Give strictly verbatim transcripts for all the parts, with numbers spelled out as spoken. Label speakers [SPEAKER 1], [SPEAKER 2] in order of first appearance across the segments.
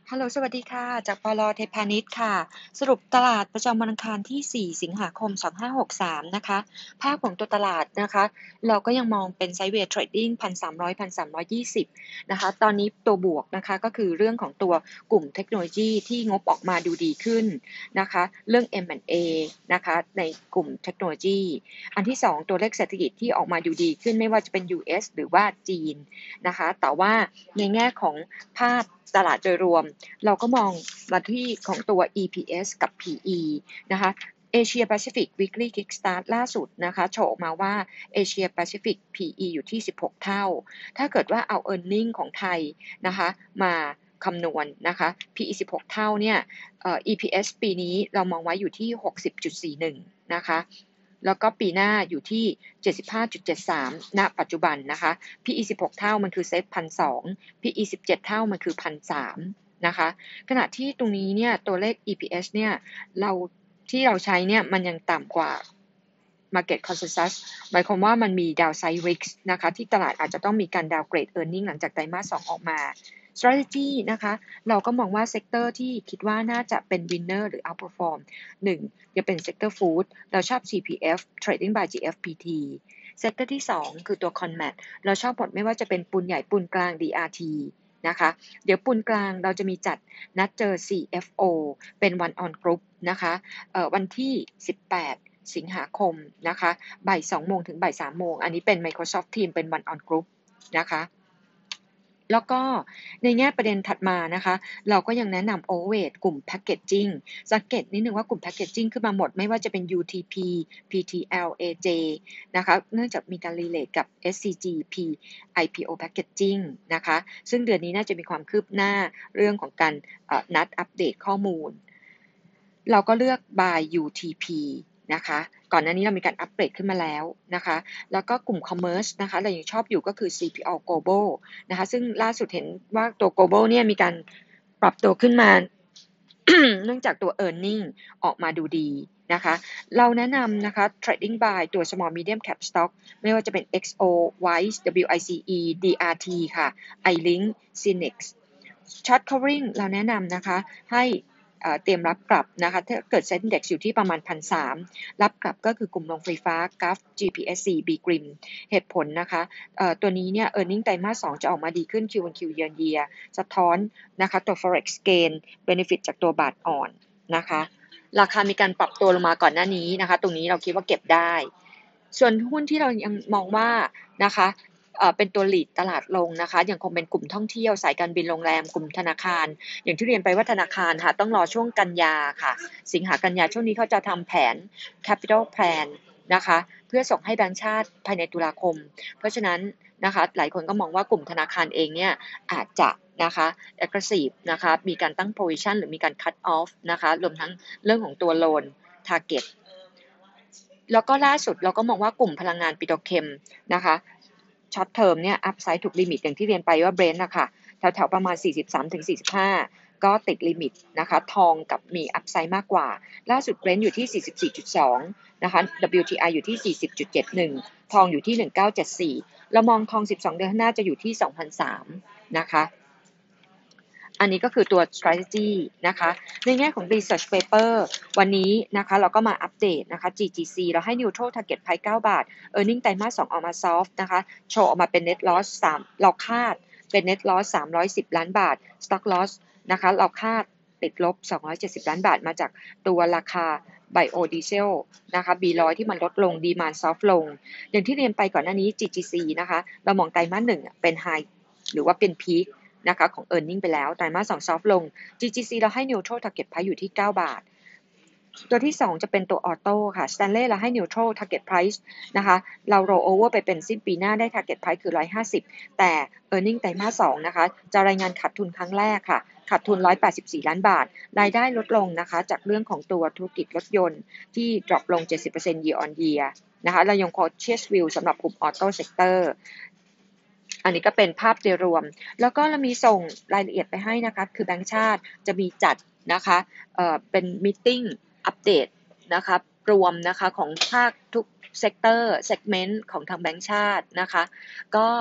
[SPEAKER 1] ฮัลโหลสวัสดีค่ะจากปลเทพาณิชย์ค่ะสรุปตลาดประจำวันอังคารที่สี่สิงหาคมสองพันห้าร้อยหกสิบสามนะคะภาพของตัวตลาดนะคะเราก็ยังมองเป็นไซด์เวย์เทรดดิ้ง หนึ่งพันสามร้อย หนึ่งพันสามร้อยยี่สิบ นะคะตอนนี้ตัวบวกนะคะก็คือเรื่องของตัวกลุ่มเทคโนโลยีที่งบออกมาดูดีขึ้นนะคะเรื่อง เอ็ม แอนด์ เอ นะคะในกลุ่มเทคโนโลยีอันที่สองตัวเลขเศรษฐกิจที่ออกมาดูดีขึ้นไม่ว่าจะเป็น ยู เอส หรือว่าจีนนะคะแต่ว่าในแง่ของภาพตลาดโดยรวมเราก็มองมาที่ของตัว อี พี เอส กับ พี อี นะคะเอเชียแปซิฟิก Weekly Kickstart ล่าสุดนะคะโชว์ออกมาว่าเอเชียแปซิฟิก พี อี อยู่ที่สิบหกเท่าถ้าเกิดว่าเอา earning ของไทยนะคะมาคำนวณนะคะ พี อี สิบหกเท่าเนี่ยเอ่อ อี พี เอส ปีนี้เรามองไว้อยู่ที่ หกสิบจุดสี่หนึ่ง นะคะแล้วก็ปีหน้าอยู่ที่ เจ็ดสิบห้าจุดเจ็ดสาม ณ ปัจจุบันนะคะ พี อี สิบหกเท่ามันคือเซ็ต หนึ่งพันสองร้อย พี อี สิบเจ็ดเท่ามันคือ หนึ่งพันสามร้อย นะคะขณะที่ตรงนี้เนี่ยตัวเลข อี พี เอส เนี่ยเราที่เราใช้เนี่ยมันยังต่ำกว่า Market Consensus หมายความว่ามันมี downside risk นะคะที่ตลาดอาจจะต้องมีการ downgrade earning หลังจากไตรมาสสองออกมา strategy นะคะเราก็มองว่าเซกเตอร์ที่คิดว่าน่าจะเป็น winner หรือ outperform หนึ่งจะเป็น sector food เราชอบ ซี พี เอฟ Trading by จี เอฟ พี ที เซกเตอร์ที่สองคือตัว Conmat เราชอบหมดไม่ว่าจะเป็นปูนใหญ่ปูนกลาง ดี อาร์ ที นะคะเดี๋ยวปูนกลางเราจะมีจัดนัดเจอ ซี เอฟ โอ เป็น one on group นะคะเอ่อวันที่สิบแปดสิงหาคมนะคะบ่ายสองโมงถึงบ่ายสามโมงอันนี้เป็น Microsoft Teams เป็น one on group นะคะแล้วก็ในแง่ประเด็นถัดมานะคะเราก็ยังแนะนำ overweight กลุ่ม packaging สังเกตนิดนึงว่ากลุ่ม packaging ขึ้นมาหมดไม่ว่าจะเป็น ยู ที พี พี ที แอล เอ เจ นะคะเนื่องจากมีการ relate กับ เอส ซี จี พี ไอ พี โอ Packaging นะคะซึ่งเดือนนี้น่าจะมีความคืบหน้าเรื่องของการนัดอัปเดตข้อมูลเราก็เลือก by ยู ที พี นะคะก่อนหน้านี้เรามีการอัปเกรดขึ้นมาแล้วนะคะแล้วก็กลุ่ม commerce นะคะเรายังชอบอยู่ก็คือ ซี พี แอล Global นะคะซึ่งล่าสุดเห็นว่าตัว global เนี่ยมีการปรับตัวขึ้นมา เนื่องจากตัว earning ออกมาดูดีนะคะเราแนะนำนะคะ trading by ตัว small medium cap stock ไม่ว่าจะเป็น เอ็กซ์ โอ Wise ดับเบิลยู ไอ ซี อี ดี อาร์ ที ค่ะ iLink Cinex short covering เราแนะนำนะคะให้เตรียมรับกลับนะคะถ้าเกิด Set Index อยู่ที่ประมาณ หนึ่งพันสามร้อย รับกลับก็คือกลุ่มโรงไฟฟ้า จี เอ เอฟ จี พี เอส ซี B-Grim เหตุผลนะคะตัวนี้เนี่ย earning ไตรมาสสองจะออกมาดีขึ้น Q on Q year on year สะท้อนนะคะตัว forex gain benefit จากตัวบาทอ่อนนะคะราคามีการปรับตัวลงมาก่อนหน้านี้นะคะตรงนี้เราคิดว่าเก็บได้ส่วนหุ้นที่เรายังมองว่านะคะเป็นตัว lead ตลาดลงนะคะยังคงเป็นกลุ่มท่องเที่ยวสายการบินโรงแรมกลุ่มธนาคารอย่างที่เรียนไปว่าธนาคารค่ะต้องรอช่วงกันยาค่ะสิงหากันยาช่วงนี้เขาจะทำแผน capital plan นะคะเพื่อส่งให้แบงก์ชาติภายในตุลาคมเพราะฉะนั้นนะคะหลายคนก็มองว่ากลุ่มธนาคารเองเนี่ยอาจจะนะคะ aggressive นะคะมีการตั้ง provision หรือมีการ cut off นะคะรวมทั้งเรื่องของตัว loan target แล้วก็ล่าสุดเราก็มองว่ากลุ่มพลังงานปิโตรเคมนะคะช็อตเทอมเนี่ยอัพไซด์ถูกลิมิตอย่างที่เรียนไปว่าเบรนท์นะคะแถวๆประมาณ สี่สิบสามถึงสี่สิบห้า ก็ติดลิมิตนะคะทองกับมีอัพไซด์มากกว่าล่าสุดเบรนท์อยู่ที่ สี่สิบสี่จุดสอง นะคะ ดับเบิลยู ที ไอ อยู่ที่ สี่สิบจุดเจ็ดหนึ่ง ทองอยู่ที่ หนึ่งพันเก้าร้อยเจ็ดสิบสี่ เรามองทองสิบสองเดือนข้างหน้าจะอยู่ที่ สองพันสามร้อย นะคะอันนี้ก็คือตัว strategy นะคะในแง่ของ research paper วันนี้นะคะเราก็มาอัปเดตนะคะ จี จี ซี เราให้ neutral target price เก้าบาท earning ไตรมาสสองออกมา soft นะคะโชว์ออกมาเป็น net loss สามเราคาดเป็น net loss สามร้อยสิบล้านบาท stock loss นะคะเราคาดติดลบสองร้อยเจ็ดสิบล้านบาทมาจากตัวราคา biodiesel นะคะ บี หนึ่งร้อย ที่มันลดลง demand soft ลงอย่างที่เรียนไปก่อนหน้านี้ จี จี ซี นะคะเรามองไตรมาสหนึ่งเป็น high หรือว่าเป็น peakนะคะของ earning ไปแล้วไตรมาสสอง soft ลง จี จี ซี เราให้ neutral target price อยู่ที่เก้าบาทตัวที่สองจะเป็นตัว auto ค่ะ Stanley เราให้ neutral target price นะคะเรา roll over ไปเป็นสิ้นปีหน้าได้ target price คือหนึ่งร้อยห้าสิบแต่ earning ไตรมาสสองนะคะจะรายงานขาดทุนครั้งแรกค่ะขาดทุนหนึ่งร้อยแปดสิบสี่ล้านบาทรายได้ลดลงนะคะจากเรื่องของตัวธุรกิจรถยนต์ที่ drop ลง เจ็ดสิบเปอร์เซ็นต์ year on year นะคะเรายัง cautious view สำหรับกลุ่ม auto sectorอันนี้ก็เป็นภาพโดยรวมแล้วก็เรามีส่งรายละเอียดไปให้นะคะคือแบงก์ชาติจะมีจัดนะคะเอ่อเป็นมีตติ้งอัปเดตนะคะรวมนะคะของภาคทุกเซกเตอร์เซกเมนต์ของทางแบงก์ชาตินะคะก็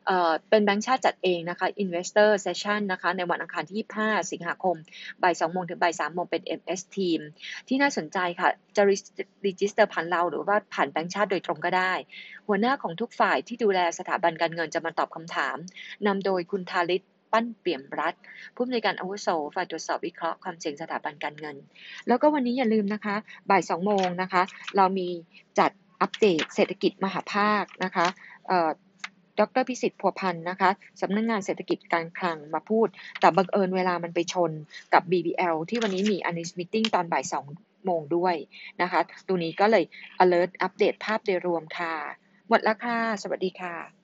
[SPEAKER 1] เอ่อเป็นแบงก์ชาติจัดเองนะคะ Investor Session นะคะในวันอังคารที่ยี่สิบห้าสิงหาคมบ่ายสองโมงถึงบ่ายสามโมงเป็น เอ็ม เอส Team ที่น่าสนใจค่ะจะ register ผ่านเราหรือว่าผ่านแบงก์ชาติโดยตรงก็ได้หัวหน้าของทุกฝ่ายที่ดูแลสถาบันการเงินจะมาตอบคำถามนำโดยคุณธาริศปั้นเปี่ยมรัฐผู้อำนวยการอาวุโสฝ่ายตรวจสอบวิเคราะห์ความเสี่ยงสถาบันการเงินแล้วก็วันนี้อย่าลืมนะคะบ่ายสองโมงนะคะเรามีจัดอัปเดตเศรษฐกิจมหาภาคนะคะเอ่อดรพิสิทธิ์พัวพันธ์นะคะสำนักงานเศรษฐกิจการคลังมาพูดแต่บังเอิญเวลามันไปชนกับ บี บี แอล ที่วันนี้มี Earnings Meeting ตอนบ่ายสองโมงด้วยนะคะตรงนี้ก็เลย alert อัปเดตภาพโดยรวมค่ะหมดแล้วค่ะสวัสดีค่ะ